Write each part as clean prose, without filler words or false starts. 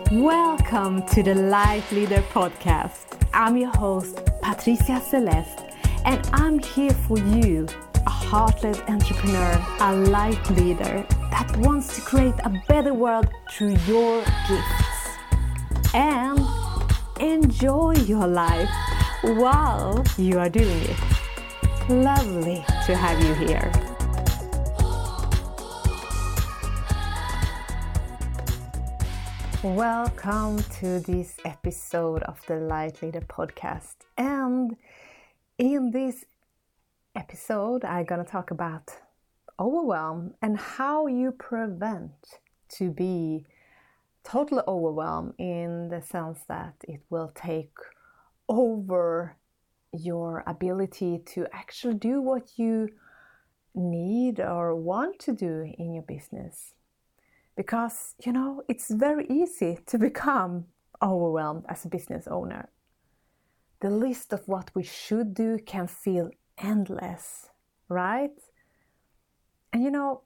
Welcome to the Life Leader Podcast. I'm your host, Patricia Celeste, and I'm here for you, a heart-led entrepreneur, a life leader that wants to create a better world through your gifts. And enjoy your life while you are doing it. Lovely to have you here. Welcome to this episode of the Life Leader Podcast. And in this episode, I'm going to talk about overwhelm and how you prevent to be totally overwhelmed, in the sense that it will take over your ability to actually do what you need or want to do in your business. Because, it's very easy to become overwhelmed as a business owner. The list of what we should do can feel endless, right? And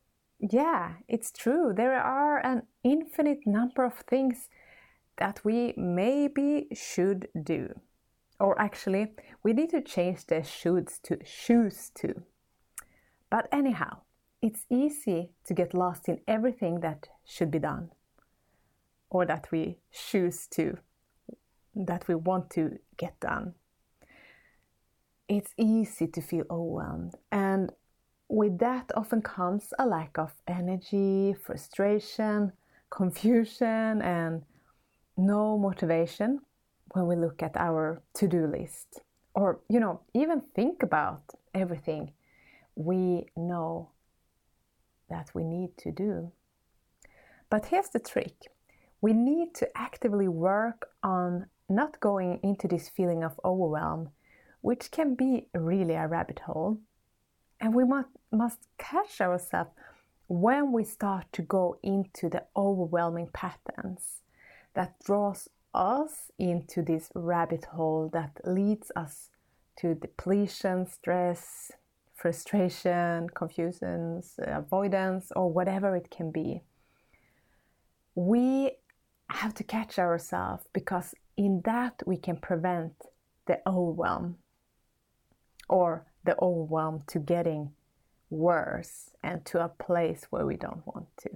it's true. There are an infinite number of things that we maybe should do. Or actually, we need to change the shoulds to choose to. But anyhow, it's easy to get lost in everything that should be done, or that we choose to, that we want to get done. It's easy to feel overwhelmed, and with that often comes a lack of energy, frustration, confusion, and no motivation when we look at our to-do list, or even think about everything we know that we need to do. But here's the trick. We need to actively work on not going into this feeling of overwhelm, which can be really a rabbit hole. And we must catch ourselves when we start to go into the overwhelming patterns that draws us into this rabbit hole that leads us to depletion, stress, frustration, confusion, avoidance, or whatever it can be. We have to catch ourselves, because in that we can prevent the overwhelm, or the overwhelm to getting worse and to a place where we don't want to.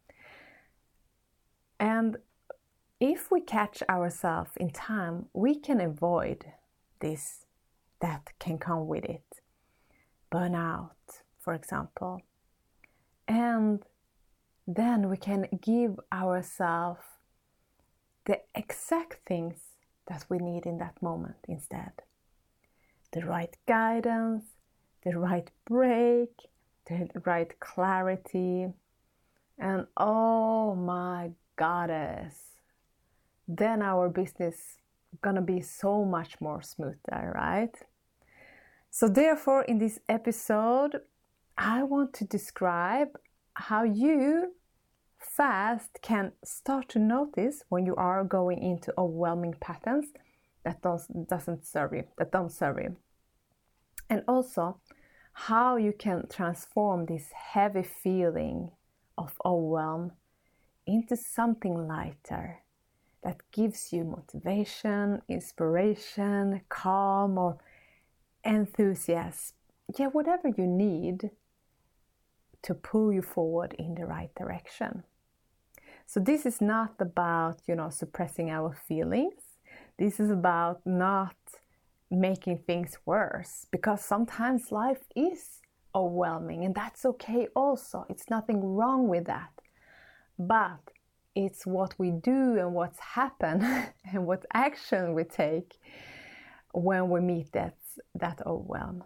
And if we catch ourselves in time, we can avoid this that can come with it. Burnout, for example. And then we can give ourselves the exact things that we need in that moment instead. The right guidance, the right break, the right clarity, and oh my goddess, then our business gonna be so much more smoother, right? So therefore, in this episode, I want to describe how you fast can start to notice when you are going into overwhelming patterns that don't serve you. And also, how you can transform this heavy feeling of overwhelm into something lighter that gives you motivation, inspiration, calm, or enthusiasm, whatever you need to pull you forward in the right direction. So this is not about, suppressing our feelings. This is about not making things worse, because sometimes life is overwhelming, and that's okay also. It's nothing wrong with that. But it's what we do and what's happened and what action we take when we meet that overwhelm.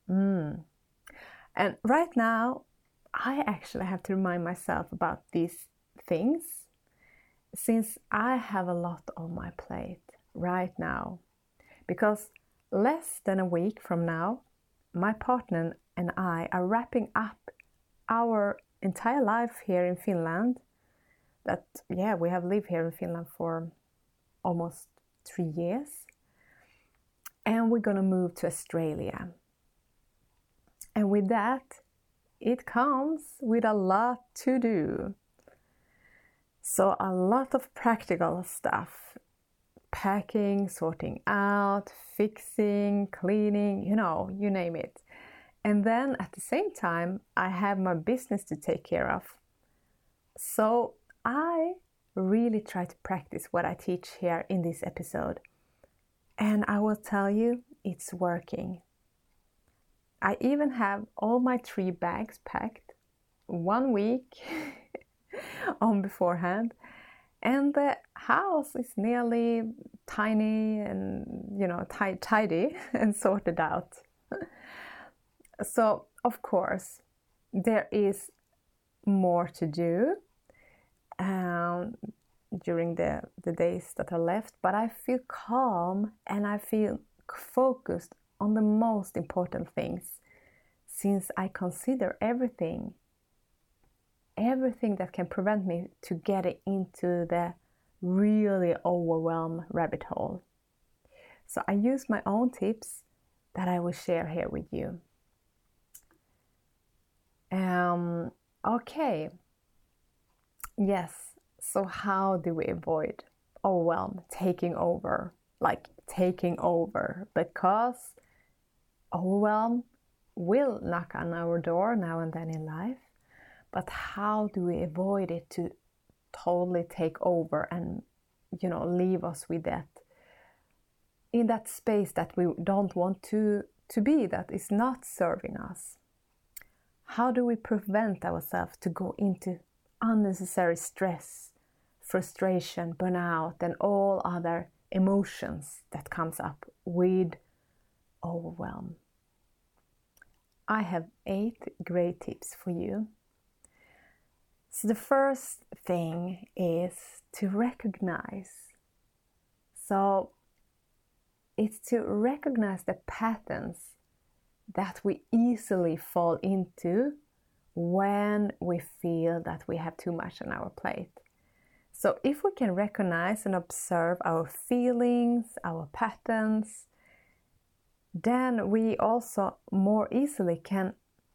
And right now, I actually have to remind myself about these things, since I have a lot on my plate right now. Because less than a week from now, my partner and I are wrapping up our entire life here in Finland. We have lived here in Finland for almost 3 years. And we're gonna move to Australia. And with that, it comes with a lot to do. So a lot of practical stuff, packing, sorting out, fixing, cleaning, you name it. And then at the same time, I have my business to take care of. So I really try to practice what I teach here in this episode. And I will tell you, it's working. I even have all my 3 bags packed 1 week on beforehand. And the house is nearly tiny and, tidy and sorted out. So, of course, there is more to do during the days that are left, but I feel calm and I feel focused on the most important things, since I consider everything that can prevent me to get into the really overwhelmed rabbit hole. So I use my own tips that I will share here with you. Okay. Yes. So how do we avoid overwhelm taking over? Like taking over, because overwhelm will knock on our door now and then in life. But how do we avoid it to totally take over and, leave us with that, in that space that we don't want to be, that is not serving us? How do we prevent ourselves to go into unnecessary stress, frustration, burnout, and all other emotions that comes up with overwhelm? I have 8 great tips for you. So the first thing is to recognize. So it's to recognize the patterns that we easily fall into when we feel that we have too much on our plate. So if we can recognize and observe our feelings, our patterns, then we also more easily can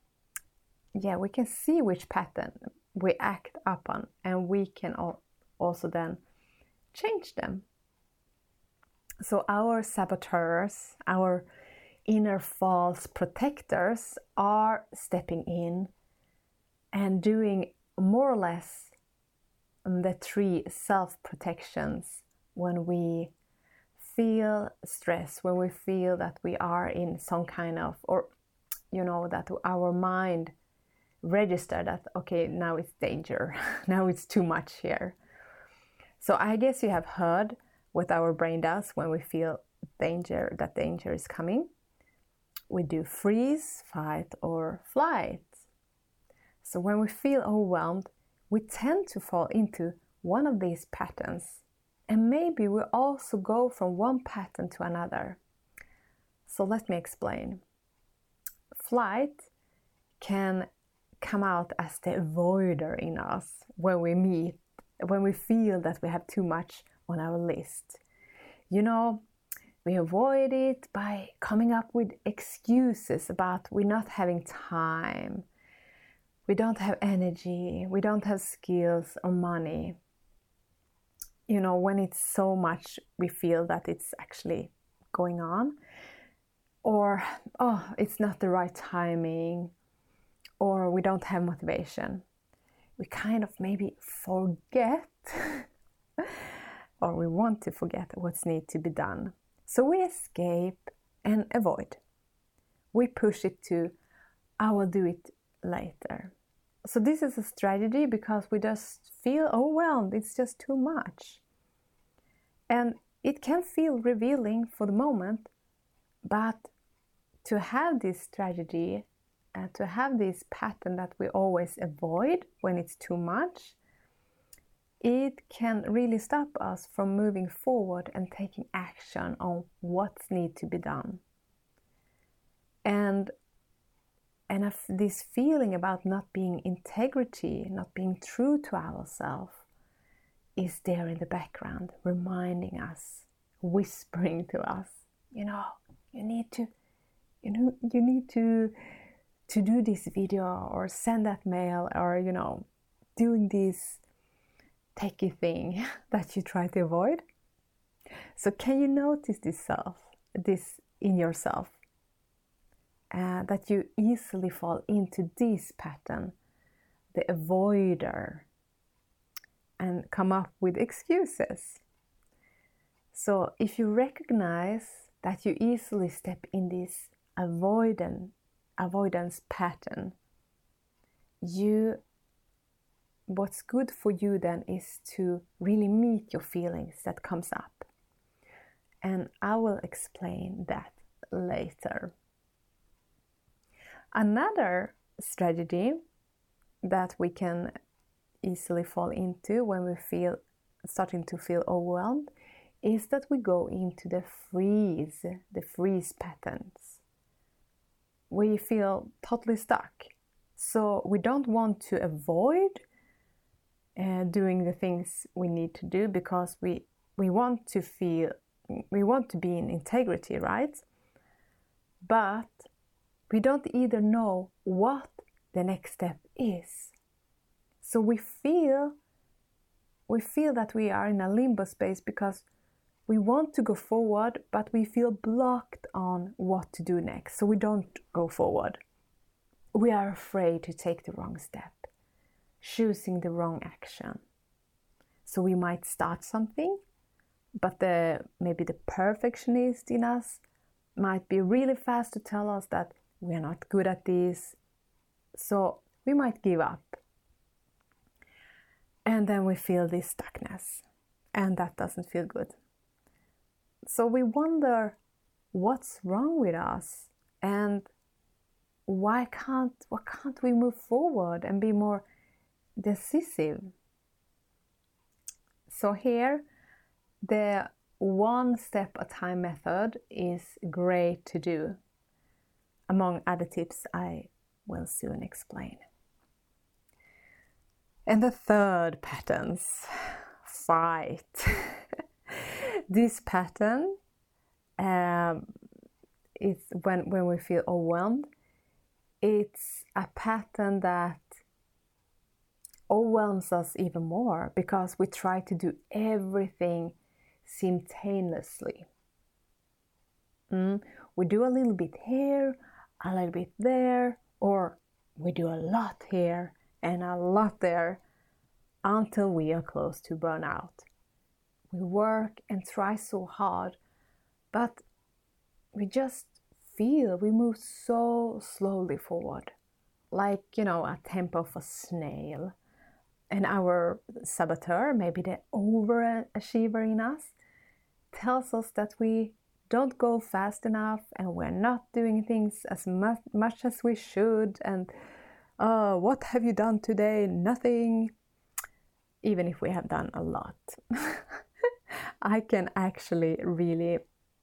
see which pattern we act upon, and we can also then change them. So our saboteurs, our inner false protectors, are stepping in and doing more or less the 3 self-protections when we feel stress, when we feel that we are in some kind of, or that our mind register that, okay, now it's danger, now it's too much here. So I guess you have heard what our brain does when we feel danger, that danger is coming. We do freeze, fight, or flight. So when we feel overwhelmed, we tend to fall into one of these patterns, and maybe we also go from one pattern to another. So let me explain. Flight can come out as the avoider in us when we feel that we have too much on our list. We avoid it by coming up with excuses about we're not having time, we don't have energy, we don't have skills or money. When it's so much, we feel that it's actually going on, or it's not the right timing, or we don't have motivation. We kind of maybe forget or we want to forget what's need to be done. So we escape and avoid. We push it to, I will do it later. So this is a strategy because we just feel overwhelmed. It's just too much. And it can feel revealing for the moment, but to have this strategy and to have this pattern that we always avoid when it's too much, it can really stop us from moving forward and taking action on what's need to be done. And if this feeling about not being integrity, not being true to ourselves, is there in the background, reminding us, whispering to us, you need to do this video or send that mail, or doing this techie thing that you try to avoid. So can you notice this in yourself? That you easily fall into this pattern, the avoider, and come up with excuses. So if you recognize that you easily step in this avoidance pattern, what's good for you then is to really meet your feelings that comes up. And I will explain that later. Another strategy that we can easily fall into when we starting to feel overwhelmed is that we go into the freeze patterns. We feel totally stuck. So we don't want to avoid doing the things we need to do because we want to be in integrity, right? But we don't either know what the next step is. So we feel that we are in a limbo space because we want to go forward, but we feel blocked on what to do next. So we don't go forward. We are afraid to take the wrong step, choosing the wrong action. So we might start something, but maybe the perfectionist in us might be really fast to tell us that we are not good at this. So we might give up. And then we feel this stuckness, and that doesn't feel good. So we wonder what's wrong with us, and why can't we move forward and be more decisive? So here, the one step at a time method is great to do, among other tips I will soon explain. And the third patterns, fight. This pattern is when we feel overwhelmed. It's a pattern that overwhelms us even more because we try to do everything simultaneously. We do a little bit here, a little bit there, or we do a lot here and a lot there until we are close to burnout. We work and try so hard, but we just feel we move so slowly forward, like, a tempo of a snail. And our saboteur, maybe the overachiever in us, tells us that we don't go fast enough and we're not doing things as much as we should. And what have you done today? Nothing. Even if we have done a lot. I can actually really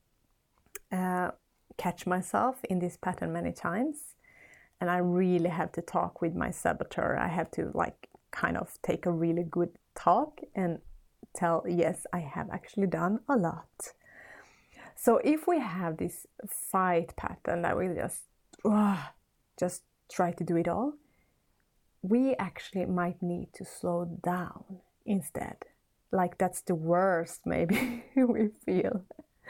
catch myself in this pattern many times. And I really have to talk with my saboteur. I have to kind of take a really good talk and tell, yes, I have actually done a lot. So if we have this fight pattern that we just try to do it all, we actually might need to slow down instead. Like that's the worst maybe we feel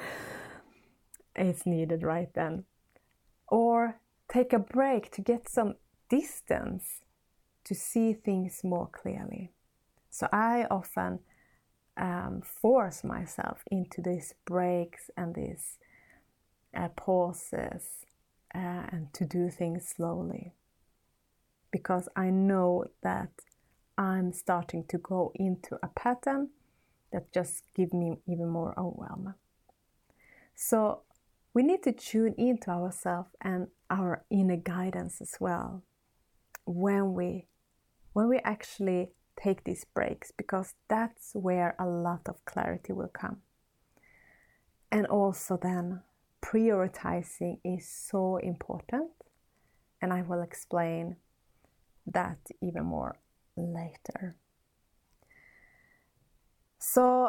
it's needed right then. Or take a break to get some distance to see things more clearly. So I often force myself into these breaks and these pauses and to do things slowly. Because I know that I'm starting to go into a pattern that just gives me even more overwhelm. So we need to tune into ourselves and our inner guidance as well when we actually take these breaks, because that's where a lot of clarity will come. And also then prioritizing is so important, and I will explain that even more later. So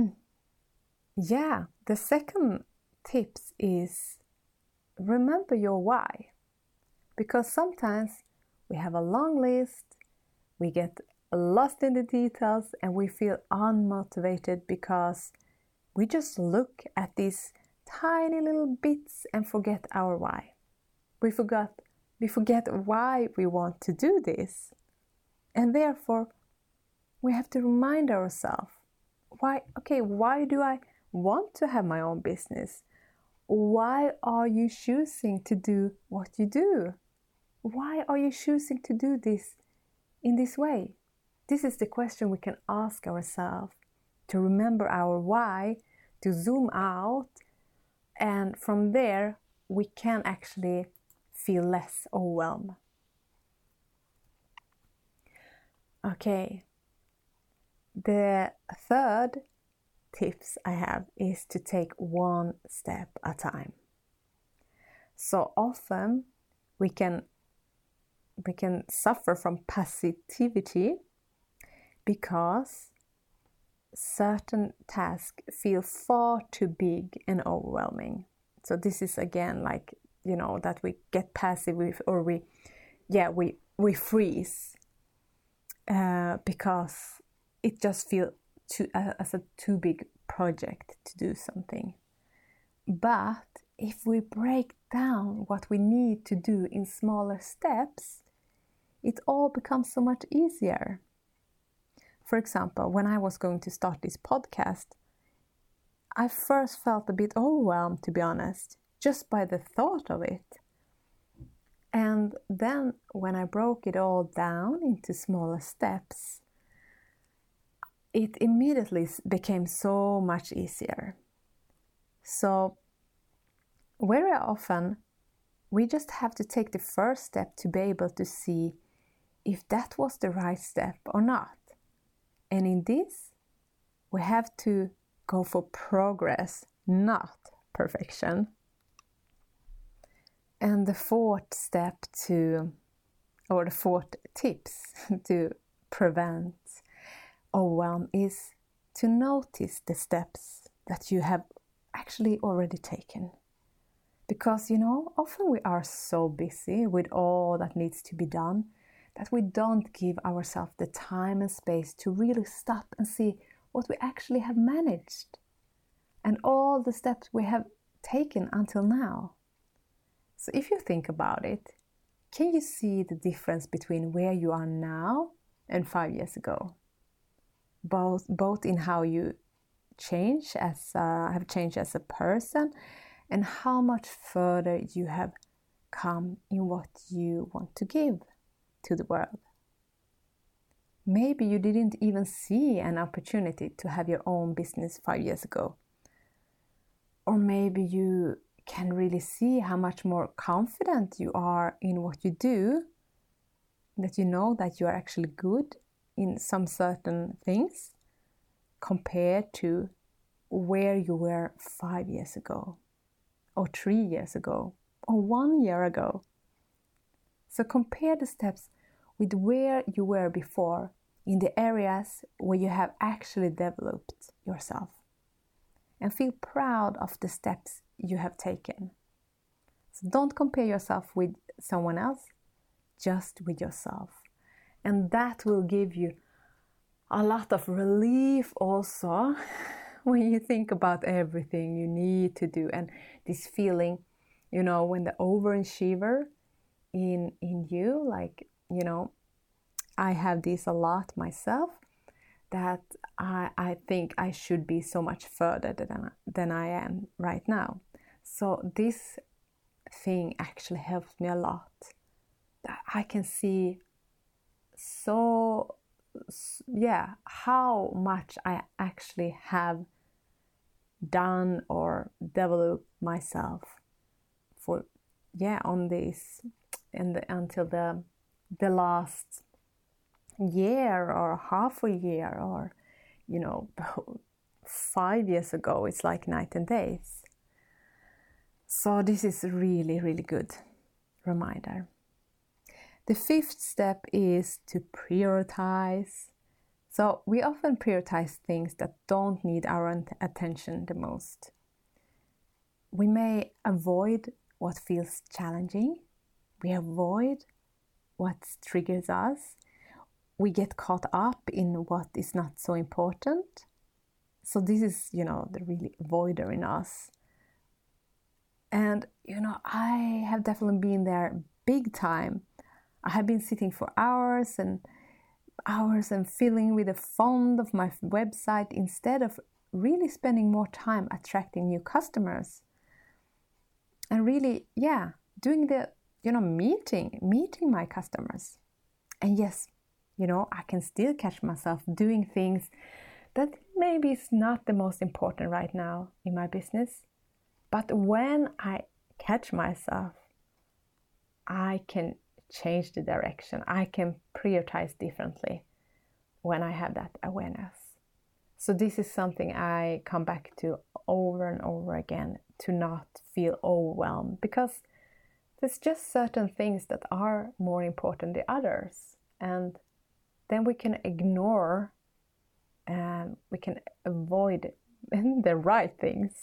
yeah, the second tips is remember your why, because sometimes we have a long list, we get lost in the details and we feel unmotivated because we just look at these tiny little bits and forget our why. We forget why we want to do this. And therefore, we have to remind ourselves, why do I want to have my own business? Why are you choosing to do what you do? Why are you choosing to do this in this way? This is the question we can ask ourselves to remember our why, to zoom out, and from there we can actually feel less overwhelmed. Okay, the third tips I have is to take one step at a time. So often we can suffer from passivity because certain tasks feel far too big and overwhelming. So this is again like, that we get passive or we freeze because it just feels as a too big project to do something. But if we break down what we need to do in smaller steps, it all becomes so much easier. For example, when I was going to start this podcast, I first felt a bit overwhelmed, to be honest, just by the thought of it. And then when I broke it all down into smaller steps, it immediately became so much easier. So very often, we just have to take the first step to be able to see if that was the right step or not. And in this, we have to go for progress, not perfection. And the fourth tips to prevent overwhelm is to notice the steps that you have actually already taken. Because, often we are so busy with all that needs to be done that we don't give ourselves the time and space to really stop and see what we actually have managed and all the steps we have taken until now. So if you think about it, can you see the difference between where you are now and 5 years ago? Both in how you have changed as a person and how much further you have come in what you want to give to the world. Maybe you didn't even see an opportunity to have your own business 5 years ago. Or maybe you can really see how much more confident you are in what you do, that you know that you are actually good in some certain things compared to where you were 5 years ago, or 3 years ago, or 1 year ago. So compare the steps with where you were before in the areas where you have actually developed yourself. And feel proud of the steps you have taken. So don't compare yourself with someone else, just with yourself. And that will give you a lot of relief also when you think about everything you need to do. And this feeling, when the overachiever in you, like, I have this a lot myself, that I think I should be so much further than I am right now. So this thing actually helps me a lot. That I can see how much I actually have done or developed myself on this until the last year or half a year or 5 years ago. It's like night and days. So this is really, really good reminder. The fifth step is to prioritize. So we often prioritize things that don't need our attention the most. We may avoid what feels challenging. We avoid what triggers us. we get caught up in what is not so important. So this is, the really avoider in us. And, I have definitely been there big time. I have been sitting for hours and filling with the font of my website instead of really spending more time attracting new customers. And really, doing the, meeting my customers. And yes, I can still catch myself doing things that maybe is not the most important right now in my business. But when I catch myself, I can change the direction. I can prioritize differently when I have that awareness. So this is something I come back to over and over again, to not feel overwhelmed, because there's just certain things that are more important than others. And then we can ignore and we can avoid the right things.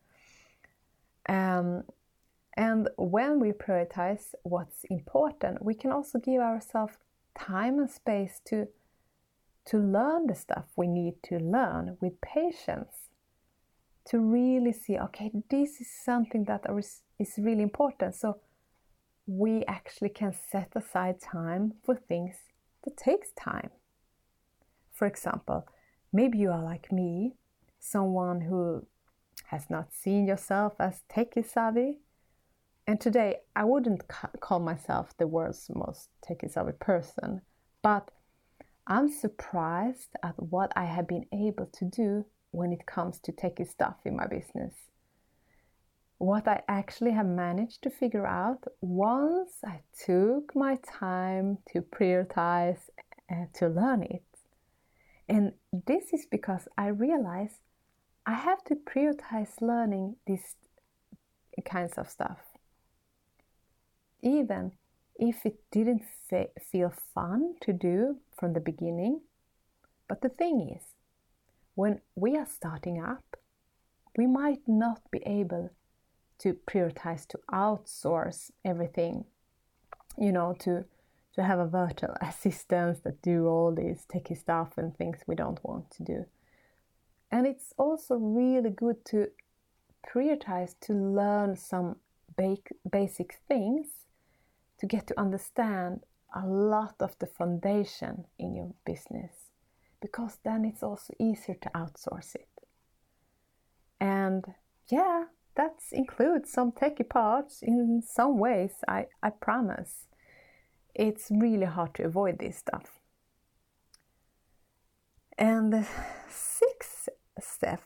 And when we prioritize what's important, we can also give ourselves time and space to learn the stuff we need to learn with patience, to really see, okay, this is something that is really important. So we actually can set aside time for things that takes time. For example, maybe you are like me, someone who has not seen yourself as techie savvy. And today I wouldn't call myself the world's most techie savvy person, but I'm surprised at what I have been able to do when it comes to techie stuff in my business. What I actually have managed to figure out once I took my time to prioritize to learn it. And this is because I realize I have to prioritize learning these kinds of stuff, even if it didn't feel fun to do from the beginning. But the thing is, when we are starting up, we might not be able to prioritize to outsource everything, to have a virtual assistant that do all this techie stuff and things we don't want to do. And it's also really good to prioritize to learn some basic things to get to understand a lot of the foundation in your business, because then it's also easier to outsource it. And that includes some techie parts in some ways, I promise. It's really hard to avoid this stuff. And the sixth step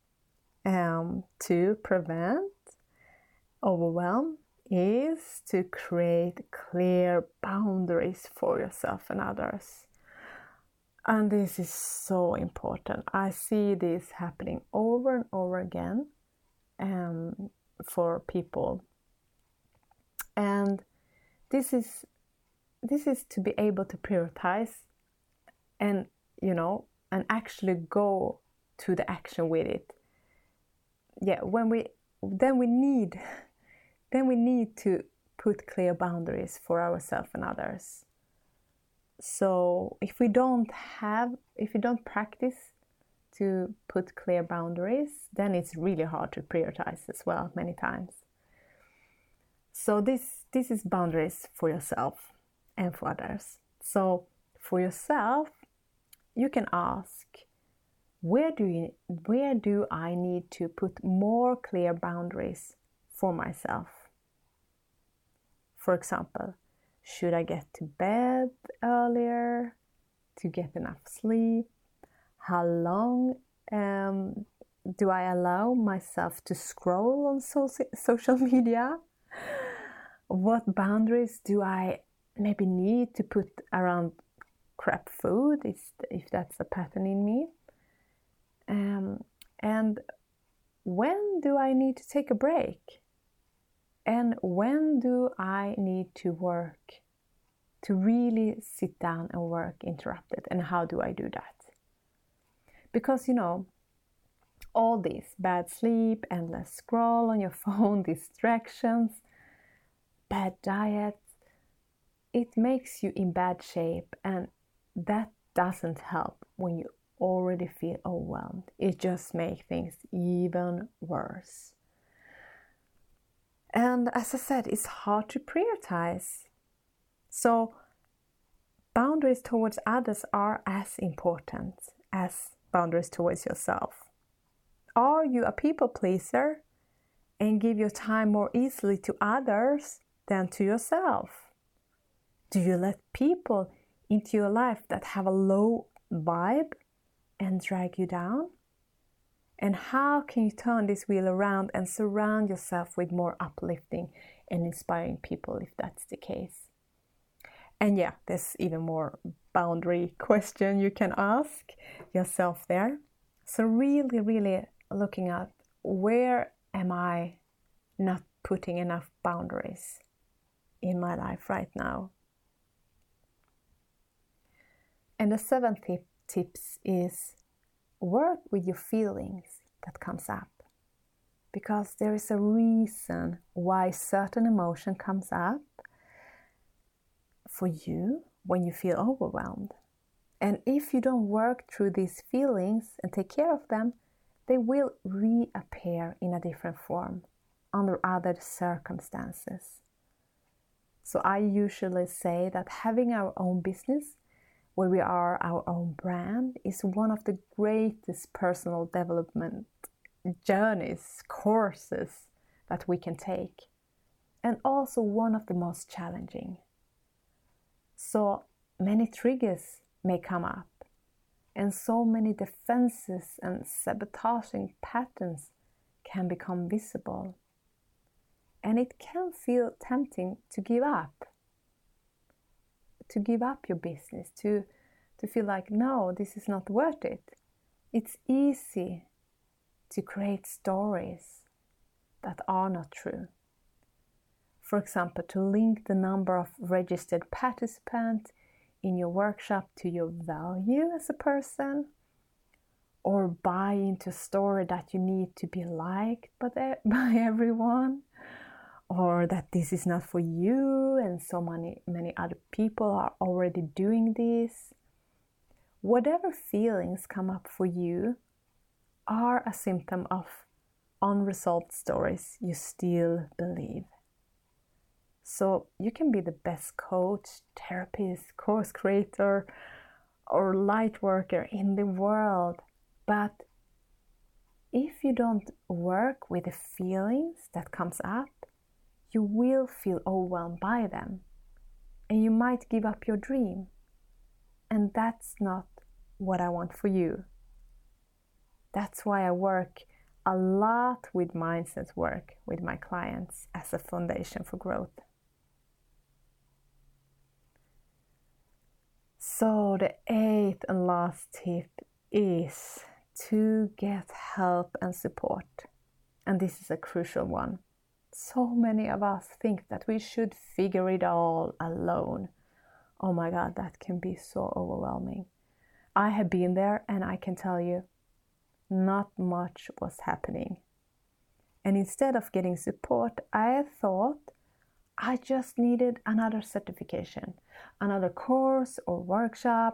to prevent overwhelm is to create clear boundaries for yourself and others. And this is so important. I see this happening over and over again for people. And this is to be able to prioritize and actually go to the action with it. Then we need to put clear boundaries for ourselves and others. So if we don't practice to put clear boundaries, then it's really hard to prioritize as well many times. So this is boundaries for yourself and for others. So for yourself, you can ask, where do I need to put more clear boundaries for myself? For example, should I get to bed earlier to get enough sleep? How long do I allow myself to scroll on social media? What boundaries do I maybe need to put around crap food, if that's a pattern in me? And when do I need to take a break? And when do I need to really sit down and work interrupted? And how do I do that? Because, all this bad sleep, endless scroll on your phone, distractions, bad diet, it makes you in bad shape and that doesn't help when you already feel overwhelmed. It just makes things even worse. And as I said, it's hard to prioritize. So boundaries towards others are as important as boundaries towards yourself. Are you a people pleaser and give your time more easily to others than to yourself? Do you let people into your life that have a low vibe and drag you down? And how can you turn this wheel around and surround yourself with more uplifting and inspiring people if that's the case? And yeah, there's even more boundary question you can ask yourself there. So really looking at, where am I not putting enough boundaries in my life right now? And the seventh tips is work with your feelings that comes up, because there is a reason why certain emotion comes up for you when you feel overwhelmed. And if you don't work through these feelings and take care of them, they will reappear in a different form under other circumstances. So I usually say that having our own business, where we are our own brand, is one of the greatest personal development journeys, courses that we can take, and also one of the most challenging. So many triggers may come up, and so many defenses and sabotaging patterns can become visible. And it can feel tempting to give up your business, to feel like, no, this is not worth it. It's easy to create stories that are not true. For example, to link the number of registered participants in your workshop to your value as a person, or buy into a story that you need to be liked by everyone, or that this is not for you and so many other people are already doing this. Whatever feelings come up for you are a symptom of unresolved stories you still believe. So you can be the best coach, therapist, course creator, or light worker in the world, but if you don't work with the feelings that comes up, you will feel overwhelmed by them, and you might give up your dream. And that's not what I want for you. That's why I work a lot with mindset work with my clients as a foundation for growth. So the eighth and last tip is to get help and support. And this is a crucial one. So many of us think that we should figure it all alone. Oh my God, that can be so overwhelming. I have been there, and I can tell you, not much was happening. And instead of getting support, I thought I just needed another certification, another course or workshop,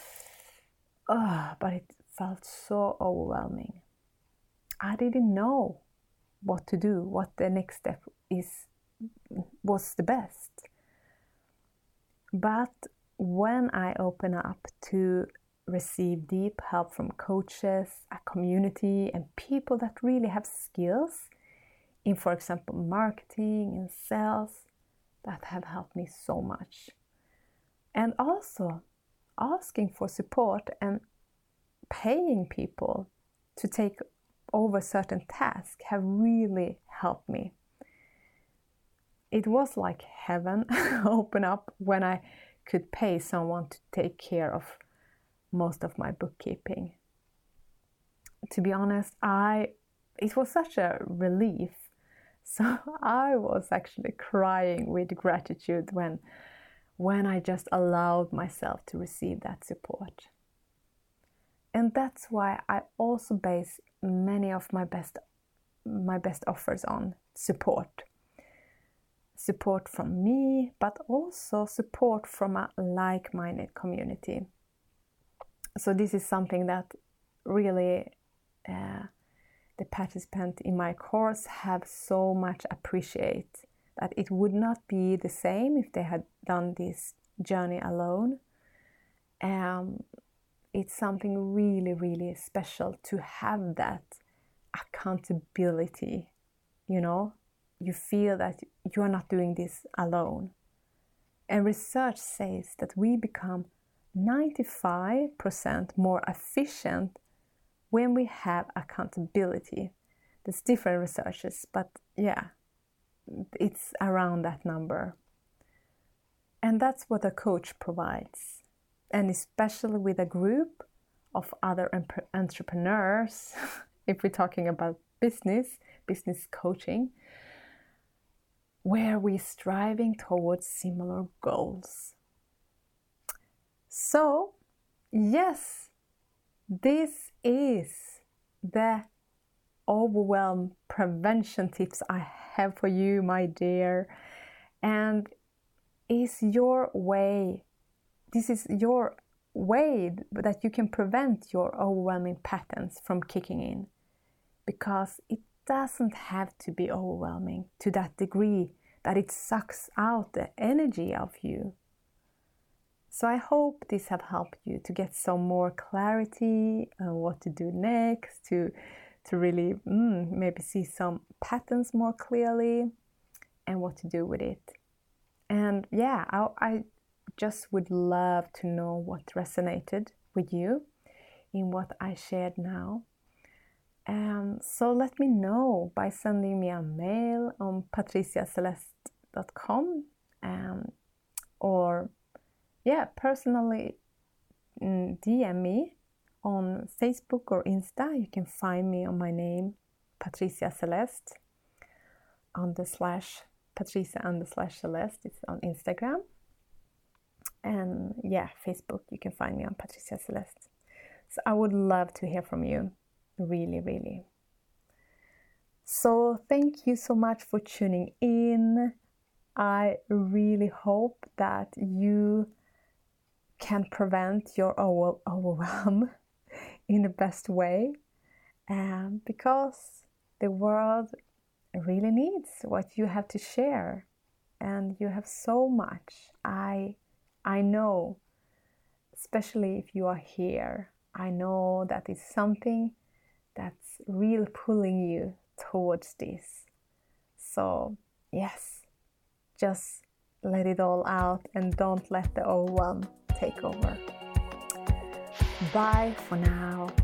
but it felt so overwhelming. I didn't know what to do, what the next step was the best. But when I open up to receive deep help from coaches, a community, and people that really have skills in, for example, marketing and sales, that have helped me so much. And also asking for support and paying people to take over certain tasks have really helped me. It was like heaven open up when I could pay someone to take care of most of my bookkeeping. To be honest, it was such a relief. So I was actually crying with gratitude when I just allowed myself to receive that support. And that's why I also base many of my best offers on support. Support from me, but also support from a like-minded community. So this is something that really the participants in my course have so much appreciate, that it would not be the same if they had done this journey alone. It's something really, really special to have that accountability, you know. You feel that you are not doing this alone. And research says that we become 95% more efficient when we have accountability. There's different researches, but yeah, it's around that number. And that's what a coach provides. And especially with a group of other entrepreneurs, if we're talking about business coaching, where we're striving towards similar goals. So, yes, this is the overwhelm prevention tips I have for you, my dear. And this is your way that you can prevent your overwhelming patterns from kicking in. Because it doesn't have to be overwhelming to that degree that it sucks out the energy of you. So I hope this have helped you to get some more clarity on what to do next, to really maybe see some patterns more clearly and what to do with it. And yeah, I just would love to know what resonated with you in what I shared now. So let me know by sending me a mail on patriciaceleste.com or personally DM me on Facebook or Insta. You can find me on my name, Patricia Celeste _ Patricia _ Celeste. It's on Instagram. And Facebook, you can find me on Patricia Celeste. So I would love to hear from you. Really, really. So thank you so much for tuning in. I really hope that you can prevent your overwhelm in the best way, because the world really needs what you have to share, and you have so much. I know, especially if you are here, I know that it's something that's really pulling you towards this. So yes, just let it all out and don't let the overwhelm take over. Bye for now.